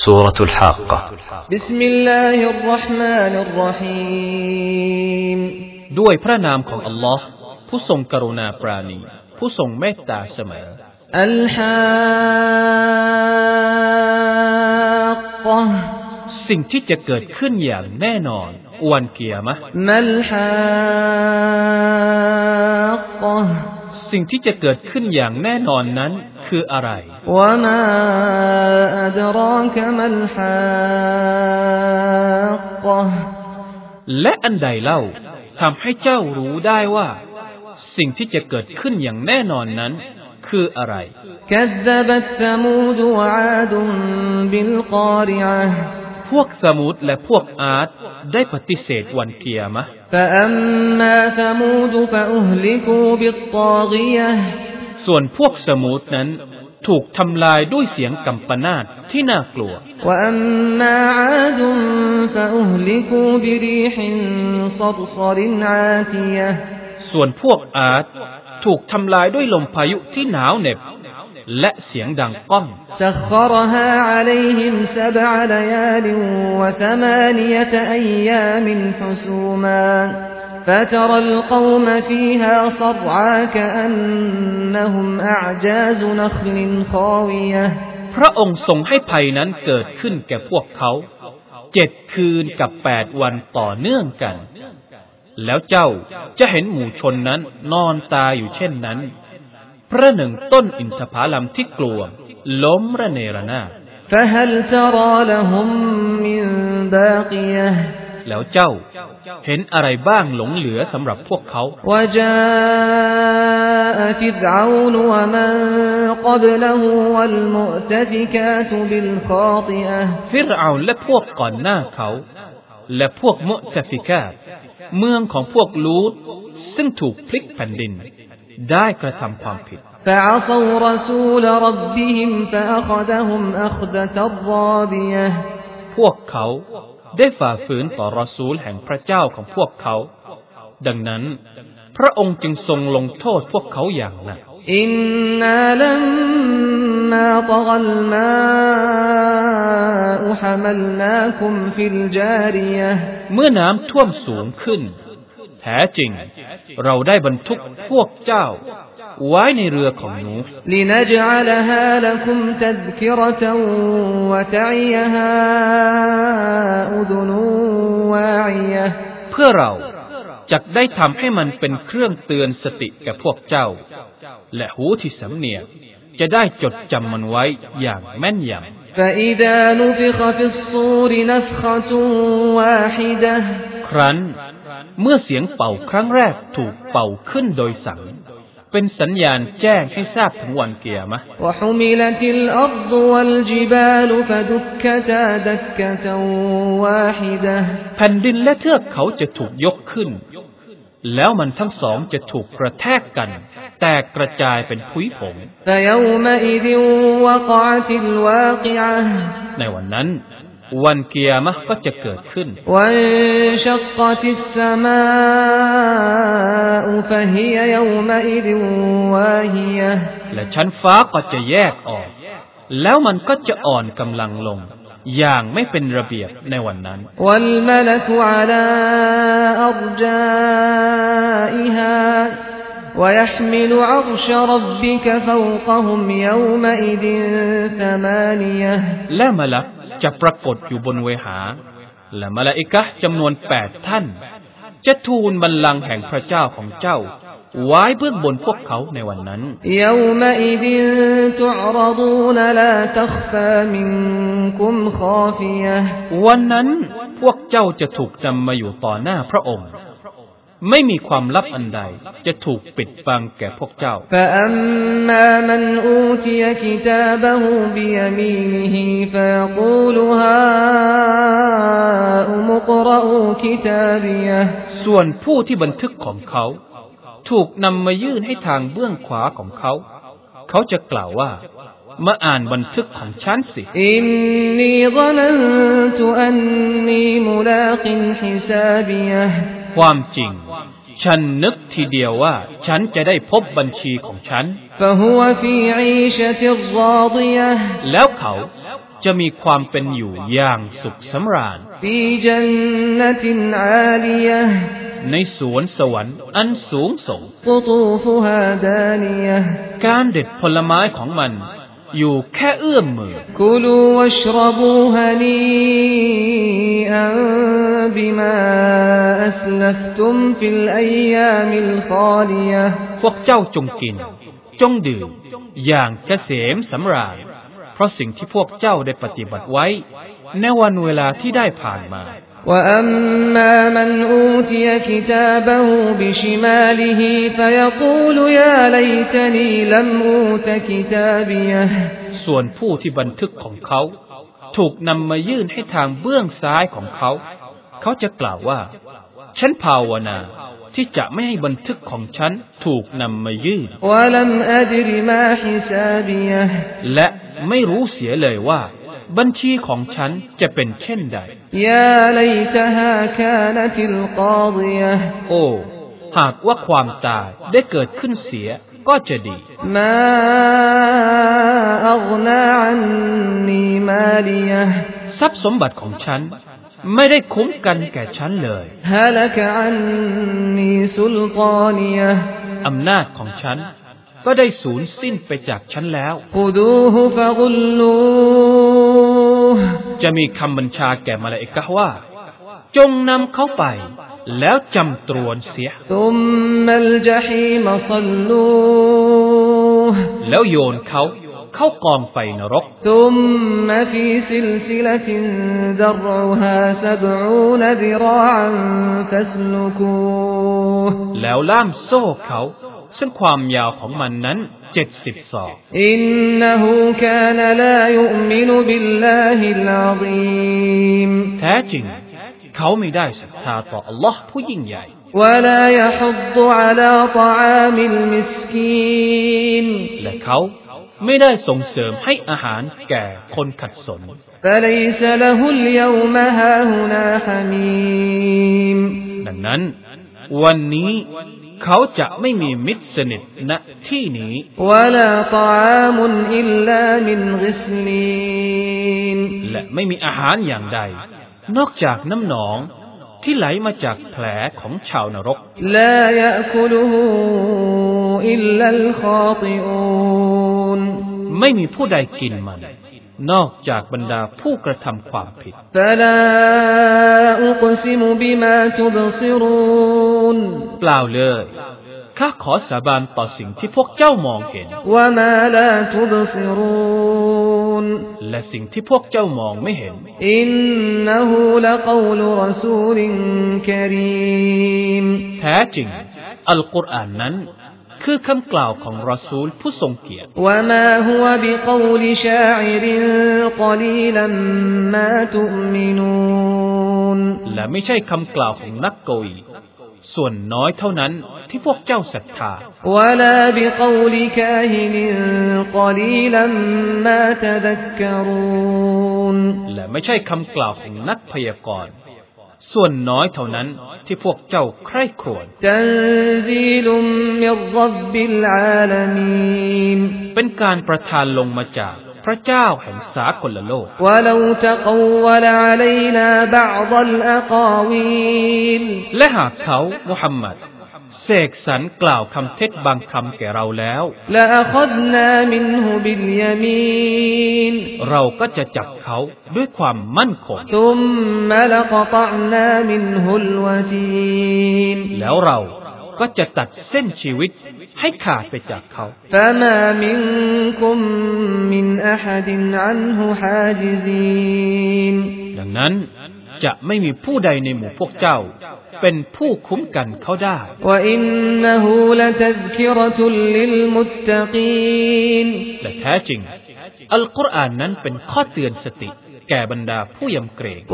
سورة الحاقة بسم الله الرحمن الرحيم ด้วยพระนามของอัลลอฮ์ผู้ทรงกรุณาปราณีผู้ทรงเมตตาเสมอ الحاقة สิ่งที่จะเกิดขึ้นอย่างแน่นอนวันกิยามะห์ ما الحاقة สิ่งที่จะเกิดขึ้นอย่างแน่นอนนั้นคืออะไร وما أدراك ما الحاقة และอันใดเล่าทำให้เจ้ารู้ได้ว่าสิ่งที่จะเกิดขึ้นอย่างแน่นอนนั้นคืออะไร كذبت ثمود وعاد بالقارعة พวกสมูดและพวกอาดได้ปฏิเสธวันกิยามะห์ فأما ثمود فأهلكوا بالطاغية ส่วนพวกสมูดนั้นถูกทำลายด้วยเสียงกำปนาตที่น่ากลัว وأما عاد فأهلكوا بريح صرصر عاتية ส่วนพวกอาดถูกทำลายด้วยลมพายุที่หนาวเหน็บและเสียงดังก้อง سخرها عليهم 7 ليال و8 أيام حسوما فترى القوم فيها صرعى كأنهم أعجاز نخل خاوية พระองค์ทรงให้ภัยนั้นเกิดขึ้นแก่พวกเขา7 คืนกับ8 วันต่อเนื่องกันแล้วเจ้าจะเห็นหมู่ชนนั้นนอนตายอยู่เช่นนั้นประหนึ่งต้นอินทผลัมที่กลวงล้มระเนระนาด فهل ترى لهم من باقية แล้วเจ้าเห็นอะไรบ้างหลงเหลือสำหรับพวกเขา وجاء فرعون ومن قبله والمؤتفكات بالخاطئة ฟิรเอาและพวกก่อนหน้าเขาและพวกมุตฟิกาตเมืองของพวกลูตซึ่งถูกพลิกแผ่นดินได้กระทำความผิด فعصوا رسول ربهم فأخذهم أخذة رابية พวกเขาได้ฝ่าฝืนต่อรอซูลแห่งพระเจ้าของพวกเขาดังนั้นพระองค์จึงทรงลงโทษพวกเขาอย่างหนักอินนาลัมมาตกัลมาอุฮะมัลนาคุมฟิลจาริยะห์เมื่อน้ำท่วมสูงขึ้นแท้จริงเราได้บรรทุกพวกเจ้าไว้ในเรือของนูห์ลินัจอะลฮาละกุมตัซกิเราะตันวะตะอิยฮาอุซุนวาอิยะห์เพื่อเราจักได้ทำให้มันเป็นเครื่องเตือนสติแก่พวกเจ้าและหูที่สำเนียกจะได้จดจำมันไว้อย่างแม่นยำ فإذا نفخ في الصور نفخة واحدة ครั้นเมื่อเสียงเป่าครั้งแรกถูกเป่าขึ้นโดยสังเป็นสัญญาณแจ้งให้ทราบถึงวันกิยามะห์ وحملت الأرض والجبال فدكتا دكة واحدة แผ่นดินและเทือกเขาจะถูกยกขึ้นแล้วมันทั้งสองจะถูกกระแทกกันแตกกระจายเป็นผุยผง فيومئذ وقعت الواقعة ในวันนั้นวันกิยามะห์ก็จะเกิดขึ้น وانشقت السماء فهي يومئذ واهية และชั้นฟ้าก็จะแยกออกแล้วมันก็จะอ่อนกำลังลงอย่างไม่เป็นระเบียบในวันนั้น والملك على أرجائها ويحمل عرش ربك فوقهم يومئذ 8 และมลักจะปรากฏอยู่บนเวหาและมลาอิกะฮ์จำนวน8 ท่านจะทูลบัลลังก์แห่งพระเจ้าของเจ้าไว้เบื้องบนพวกเขาในวันนั้น يومئذ تعرضون لا تخفى منكم خافية วันนั้นพวกเจ้าจะถูกนำมาอยู่ต่อหน้าพระองค์ไม่มีความลับอันใดจะถูกปิดบังแก่พวกเจ้า فأما من أوتي كتابه بيمينه فيقول هاؤم اقرءوا كتابيه ส่วนผู้ที่บันทึกของเขาถูกนำมายื่นให้ทางเบื้องขวาของเขาเขาจะกล่าวว่ามาอ่านบันทึกของฉันสิอินนีซะนันตุอันนีมุลากินฮิซาบิยะห์ความจริงฉันนึกทีเดียวว่าฉันจะได้พบบัญชีของฉัน فهو في عيشة راضية แล้วเขาจะมีความเป็นอยู่อย่างสุขสำราญในสวนสวรรค์อันสูงส่งการเด็ดผลไม้ของมันอยู่แค่เอื้อมมือพวกเจ้าจงกินจงดื่มอย่างเกษมสำราญเพราะสิ่งที่พวกเจ้าได้ปฏิบัติไว้ในวันเวลาที่ได้ผ่านมา وأما من أوتي كتابه بشماله فيقول يا ليتني لم أوت كتابيه ส่วนผู้ที่บันทึกของเขาถูกนำมายื่นให้ทางเบื้องซ้ายของเขาเขาจะกล่าวว่าฉันภาวนาที่จะไม่ให้บันทึกของฉันถูกนำมายื่นและไม่รู้เสียเลยว่าบัญชีของฉันจะเป็นเช่นใดโอ้หากว่าความตายได้เกิดขึ้นเสียก็จะดีทรัพย์สมบัติของฉันไม่ได้คุ้มกันแก่ฉันเลยอำนาจของฉันก็ได้สูญสิ้นไปจากฉันแล้วจะมีคำบัญชาแก่มลาอิกะฮ์ว่าจงนำเขาไปแล้วจำตรวนเสียแล้วโยนเขาเข้ากองไฟนรกแล้วล่ามโซ่เขาซึ่งความยาวของมันนั้น70 ศอกอินนะฮูกานลายุมินุบิลลาฮิลอะซีมแท้จริงเขาไม่ได้ศรัทธาต่ออัลลอฮ์ผู้ยิ่งใหญ่วะลายะฮัฎฎุอะลาฏออามิลมิสกีนและเขาไม่ได้ส่งเสริมให้อาหารแก่คนขัดสน فليس له اليوم هاهنا حميم ดังนั้นวันนี้เขาจะไม่มีมิตรสนิทณที่นี้และไม่มีอาหารอย่างใดนอกจากน้ำหนองที่ไหลมาจากแผลของชาวนรกไม่มีผู้ใดกินมันนอกจากบรรดาผู้กระทำความผิดเปล่าเลยข้าขอสาบานต่อสิ่งที่พวกเจ้ามองเห็นและสิ่งที่พวกเจ้ามองไม่เห็นอินนะฮูละกอลุรอซูลินกะรีมแท้จริงอัลกุรอานนั้นคือคำกล่าวของรอซูลผู้ทรงเกียรติและไม่ใช่คำกล่าวของนักกวีส่วนน้อยเท่านั้นที่พวกเจ้าศรัทธาและไม่ใช่คำกล่าวของนักพยากรณ์ส่วนน้อยเท่านั้นที่พวกเจ้าใคร่ครวญเป็นการประทานลงมาจากพระเจ้าแห่งสากลโลกและหากเขามุฮัมมัดเสกสรรกล่าวคำเท็จบางคำแก่เราแล้วเราก็จะจับเขาด้วยความมั่นคงแล้วเราก็จะตัดเส้นชีวิตให้ขาดไปจากเขาดังนั้นจะไม่มีผู้ใดในหมู่พวกเจ้าเป็นผู้คุ้มกันเขาได้และแท้จริงอัลกุรอานนั้นเป็นข้อเตือนสติแก่บรรดาผู้ยำเกรง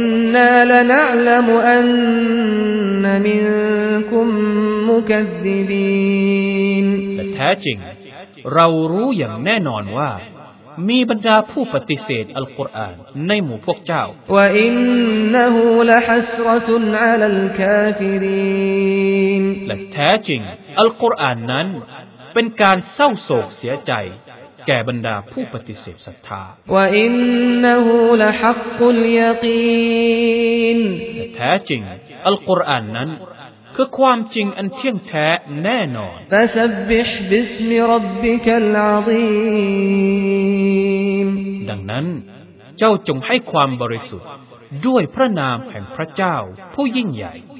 และแท้จริงเรารู้อย่างแน่นอนว่ามีบรรดาผู้ปฏิเสธอัลกุรอานในหมู่พวกเจ้าและแท้จริงอัลกุรอานนั้นเป็นการเศร้าโศกเสียใจแก่บรรดาผู้ปฏิเสธศรัทธา وإنه لحق اليقين แท้จริงอัลกุรอานนั้นคือความจริงอันเที่ยงแท้แน่นอน فسبح باسم ربك العظيم ดังนั้นเจ้าจงให้ความบริสุทธิ์ด้วยพระนามแห่งพระเจ้าผู้ยิ่งใหญ่